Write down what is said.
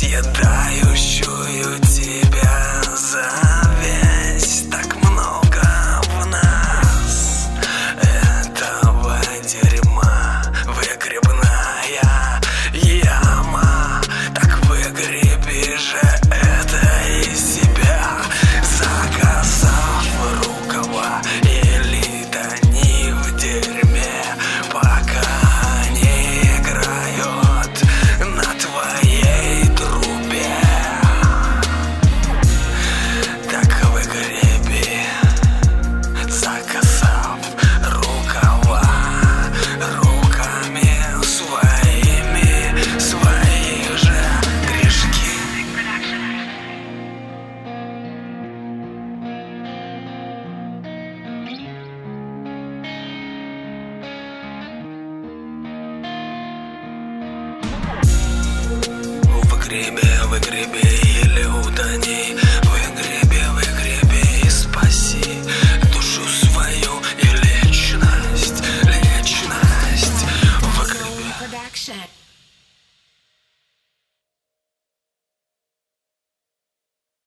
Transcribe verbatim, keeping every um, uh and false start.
съедающую тебя зависть. Так много в нас этого дерьма. Выгребная яма. Так выгреби же это из себя, заказав рукава или тони в дерьме, пока не играют на твоей трубе. Так выгреби, заказав рукава руками своими свои же грешки. Выгреби